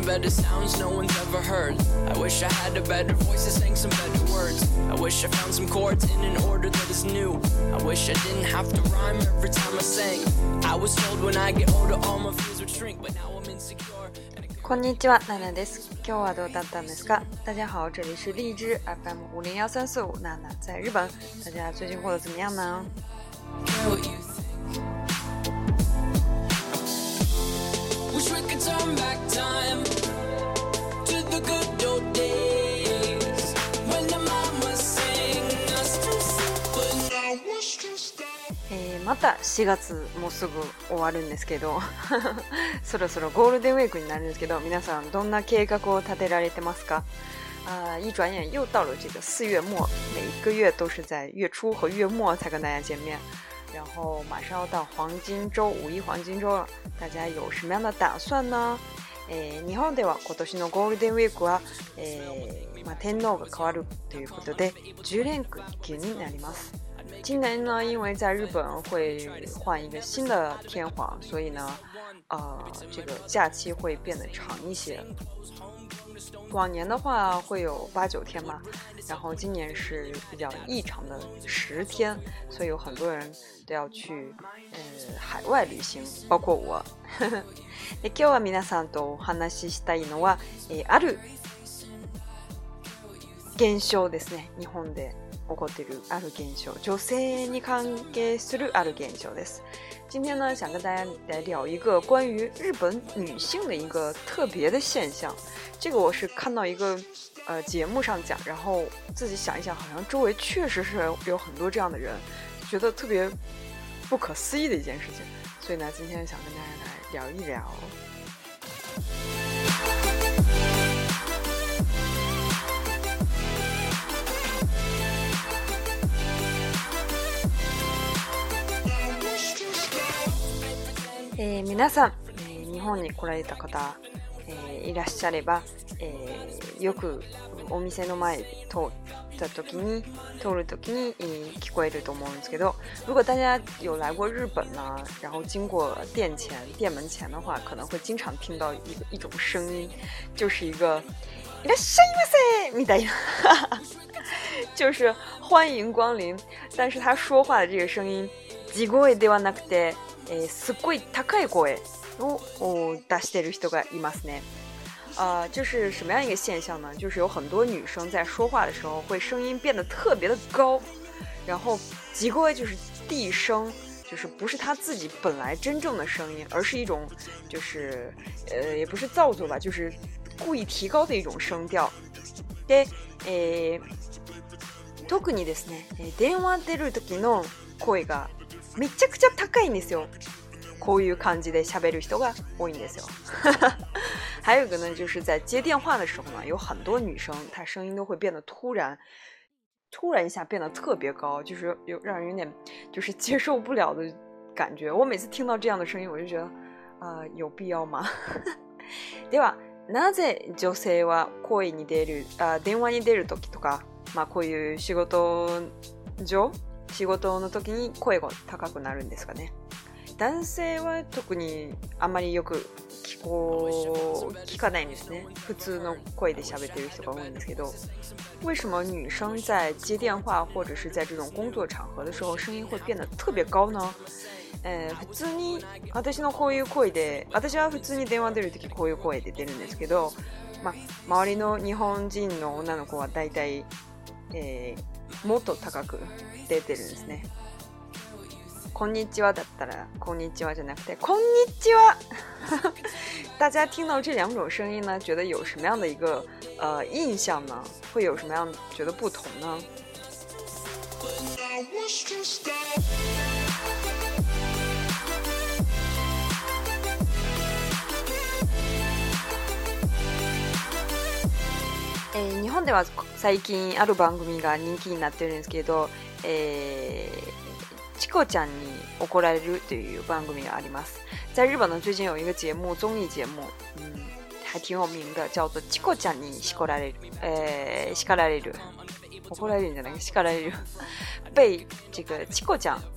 better sounds no one's ever heard. I wish I had a better voice that sang some better words. I wish I found some chords in an order that is new. I wish I didn't have to rhyme every time I sang. I was told when I get older all my fears would shrink, but now I'm insecure. こんにちは、娜娜です。今日はどうだったんですか？大家好，这里是荔枝 FM5014345，娜娜在日本。大家最近过得怎么样呢 ？Wish we could turn back time to the good old days when the mama sang us to sleep, but now it's just that. また4月もうすぐ終わるんですけどそろそろゴールデンウィークになるんですけど、皆さんどんな計画を立てられてますか？一转眼又到了这个4月末，每一个月都是在月初和月末才跟大家见面，然后马上要到黄金周、五一黄金周了，大家有什么样的打算呢？日本では今年のゴールデンウィークは、天皇が変わるということで10連休になります。今年呢，因为在日本会换一个新的天皇，所以呢，这个假期会变得长一些。往年的话会有8、9天嘛，然后今年是比较异常的10天，所以有很多人都要去海外旅行，包括我。で今日は皆さんとお話ししたいのは、ある現象ですね。日本で起こっているある現象，女性に関係するある現象です。今天呢，想跟大家来聊一个关于日本女性的一个特别的现象。这个我是看到一个节目上讲，然后自己想一想，好像周围确实是有很多这样的人，觉得特别不可思议的一件事情。所以呢，今天想跟大家来聊一聊。皆さん、日本に来られた方、いらっしゃれば、よくお店の前通る時に聞こえると思うんですけど，如果大家有来过日本呢，然后经过店门前的话，可能会经常听到一种声音，就是一个いらっしゃいませみたいな就是欢迎光临，但是他说话的这个声音地声ではなくてすっごい高い声を出してる人がいますね。就是什么样一个现象呢？就是有很多女生在说话的时候会声音变得特别的高，然后地声就是地声，就是不是她自己本来真正的声音，而是一种就是也不是造作吧，就是故意提高的一种声调。で、特にですね、電話出る時の声がめちゃくちゃ高いんですよ。こういう感じで喋る人が多いんですよ。还有一个呢，就是在接电话的时候呢，有很多女生她声音都会变得突然一下变得特别高，就是让人有点就是接受不了的感觉。我每次听到这样的声音，我就觉得有必要吗？ではなぜ女性は声に出る電話に出る時とか、こういう仕事の時に声が高くなるんですかね。男性は特にあまりよく聞かないんですね。普通の声で喋ってる人が多いんですけど，为什么女生在接电话或者是在这种工作场合的时候声音会变得特别高呢？普通に私のこういう声で、私は普通に電話出るときこういう声で出るんですけど、周りの日本人の女の子はだいたいもっと高く出てるんですね。こんにちはだったらこんにちはじゃなくてこんにちは大家听到这两种声音呢，觉得有什么样的一个印象呢？会有什么样觉得不同呢？日本では最近ある番組が人気になってるんですけど、チコちゃんに怒られるという番組があります。在日本呢，最近有一个节目，综艺节目，还挺有名的，叫做チコちゃんに叱られる，叱られる，怒られるんじゃない？叱られる，被这个チコちゃん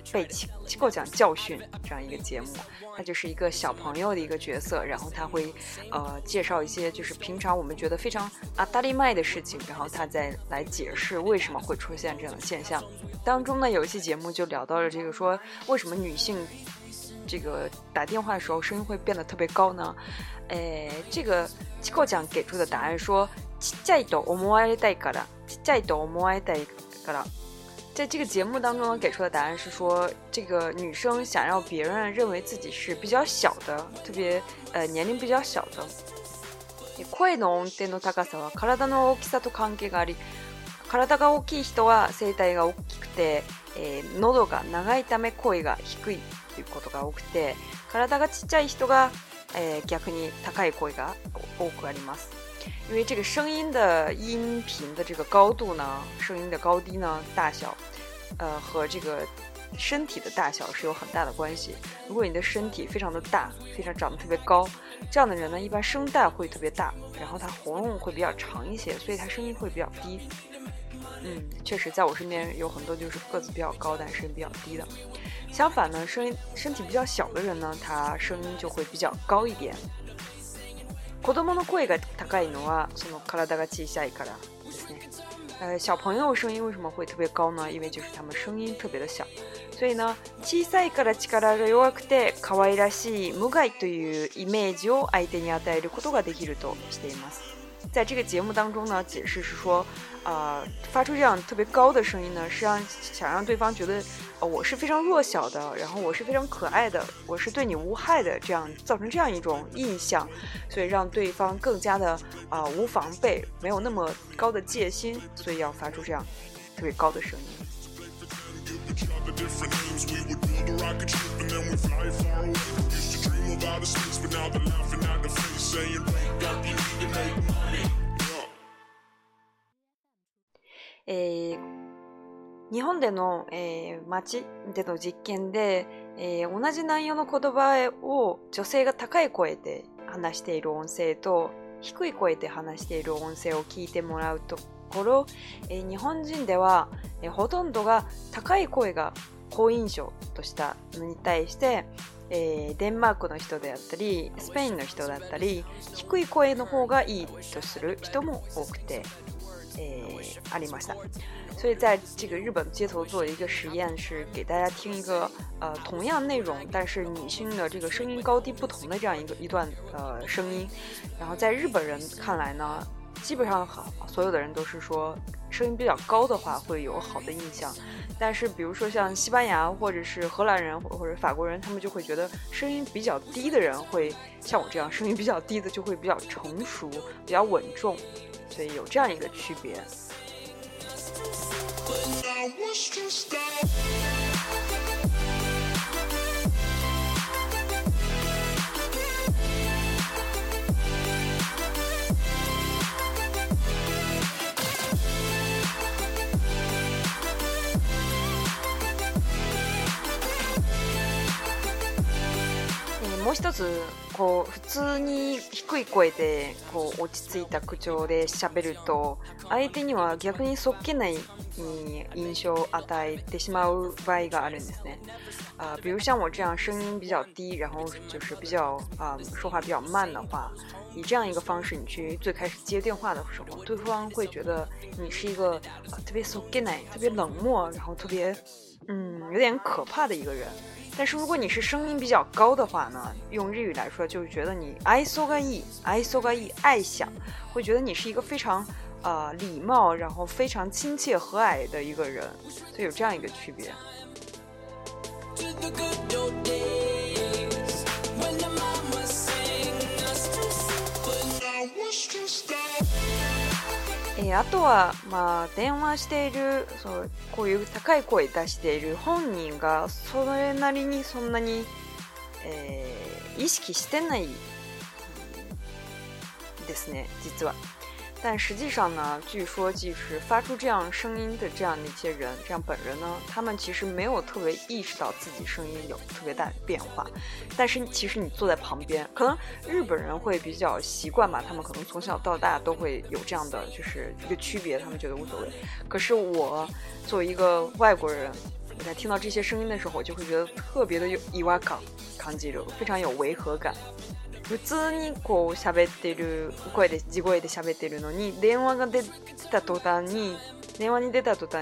被七狗讲教训这样一个节目。他就是一个小朋友的一个角色，然后他会介绍一些就是平常我们觉得非常当たり前的事情，然后他再来解释为什么会出现这样的现象。当中呢，有一期节目就聊到了这个说为什么女性这个打电话的时候声音会变得特别高呢？这个七狗讲给出的答案说ちっちゃいと思われたいからちっちゃいと思われたいから在这个节目当中呢，给出的答案是说，这个女生想让别人认为自己是比较小的，特别年龄比较小的。声の音程の高さは体の大きさと関係があり、体が大きい人は声帯が大きくて、喉が長いため声が低いということが多くて、体がちっちゃい人が、逆に高い声が多くあります。因为这个声音的音频的这个高度呢，声音的高低呢，大小，和这个身体的大小是有很大的关系。如果你的身体非常的大，非常长得特别高，这样的人呢，一般声带会特别大，然后他喉咙会比较长一些，所以他声音会比较低。确实，在我身边有很多就是个子比较高，但声音比较低的。相反呢，身体比较小的人呢，他声音就会比较高一点。子供の声が高いのはその体が小さいからですね。小朋友声音为什么会特别高呢？因为就是他们声音特别的小，所以呢，小さいから力が弱くて可愛らしい無害というイメージを相手に与えることができるとしています。在这个节目当中呢，解释是说，发出这样特别高的声音呢，是想让对方觉得，我是非常弱小的，然后我是非常可爱的，我是对你无害的，这样造成这样一种印象，所以让对方更加的无防备，没有那么高的戒心，所以要发出这样特别高的声音。日本での、街での実験で、同じ内容の言葉を女性が高い声で話している音声と低い声で話している音声を聞いてもらうところ、日本人では、ほとんどが高い声が好印象としたのに対して、デンマークの人であったりスペインの人だったり低い声の方がいいとする人も多くて、ありました。所以在这个日本街头做一个实验，是给大家听一个同样内容，但是女性的这个声音高低不同的这样一段声音。然后在日本人看来呢，基本上所有的人都是说声音比较高的话会有好的印象，但是比如说像西班牙或者是荷兰人或者法国人，他们就会觉得声音比较低的人会像我这样，声音比较低的就会比较成熟比较稳重，所以有这样一个区别。もう一つこう普通に低い声でこう落ち着いた口調で喋ると相手には逆にそっけない印象を与えてしまう場合があるんですね。比如像我这样声音比较低，然后就是比较说话比较慢的话，以这样一个方式你去最开始接电话的时候，对方会觉得你是一个特别そっけない、特别冷漠，然后特别有点可怕的一个人。但是如果你是声音比较高的话呢，用日语来说就是觉得你愛想がいい、愛想がいい、愛想，会觉得你是一个非常礼貌，然后非常亲切和蔼的一个人，所以有这样一个区别。あとは、電話しているこういう高い声出している本人がそれなりにそんなに、意識してないですね，実は。但实际上呢，据说即使发出这样声音的这样的一些人，这样本人呢，他们其实没有特别意识到自己声音有特别大的变化。但是其实你坐在旁边，可能日本人会比较习惯吧，他们可能从小到大都会有这样的就是一个区别，他们觉得无所谓。可是我作为一个外国人， 在听到这些声音的时候，我就会觉得特別的有違和感感じる，非常有违和感。普通にこう喋ってる声で地声で喋ってるのに電話に出た途端にこんにち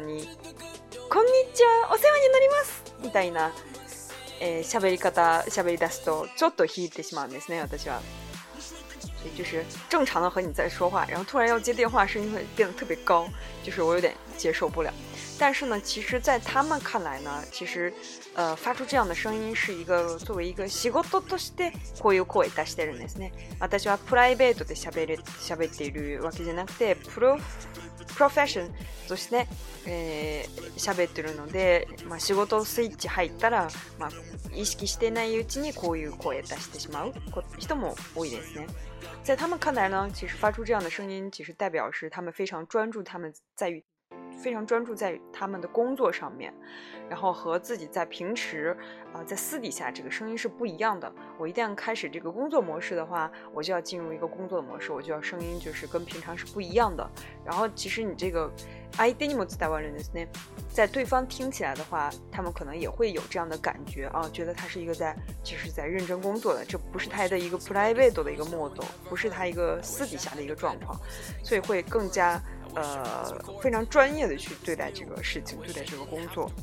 はお世話になりますみたいな喋り出すとちょっと引いてしまうんですね私は。所以就是正常的和你在说话，然后突然要接电话，声音会变得特别高，就是我有点接受不了。但是呢，其实在他们看来呢，其实发出这样的声音是一个作为一个仕事としてこういう声出してるんですね。私はプライベートで喋っているわけじゃなくてプロフェッションとして喋ってるので、仕事スイッチ入ったら、意識してないうちにこういう声出してしまう人も多いですね。在他们看来呢，其实发出这样的声音，其实代表是他们非常专注，非常专注在他们的工作上面，然后和自己在平时在私底下这个声音是不一样的。我一旦开始这个工作模式的话，我就要进入一个工作的模式，我就要声音就是跟平常是不一样的。然后其实你这个相手にも伝わるんですね，在对方听起来的话，他们可能也会有这样的感觉啊，觉得他是一个其实在认真工作的，这不是他的一个プライベート的一个モード，不是他一个私底下的一个状况，所以会更加非常专业的去对待这个事情，对待这个工作。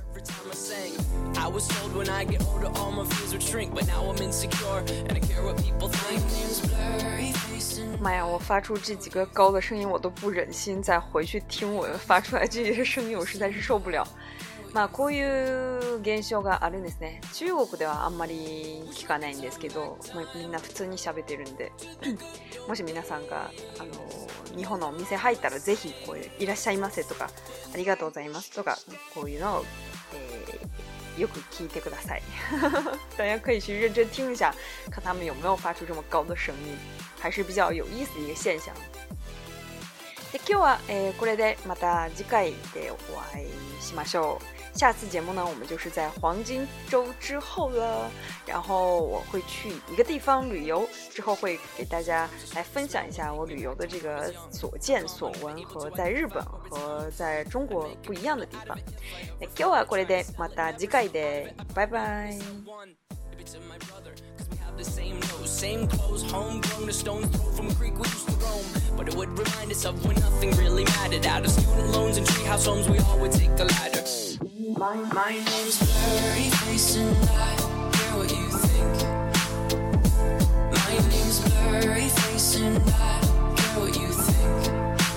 妈呀，我发出这几个高的声音，我都不忍心再回去听我发出来这些声音，我实在是受不了。こういう現象があるんですね。中国ではあんまり聞かないんですけど、みんな普通に喋ってるんでもし皆さんが日本のお店入ったらぜひこういういらっしゃいませとかありがとうございますとかこういうのを、よく聞いてください大家可以去认真听一下，看他们有没有发出这么高的声音，还是比较有意思的一个现象。で今日は、これでまた次回でお会いしましょう。下次节目呢，我们就是在黄金周之后了，然后我会去一个地方旅游，之后会给大家来分享一下我旅游的这个所见所闻和在日本和在中国不一样的地方。今日はこれでまた次回でバイバイ。The same nose, same clothes, homegrown, a stone's throw from a creek we used to roam. But it would remind us of when nothing really mattered. Out of student loans and treehouse homes, we all would take a ladder. My name's Blurry Face and I care what you think. My name's Blurry Face and I care what you think.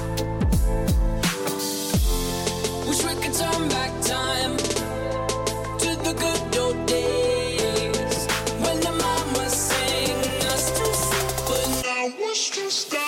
Wish we could turn back time to the good old days when the mama sang us to sleep, but now it's just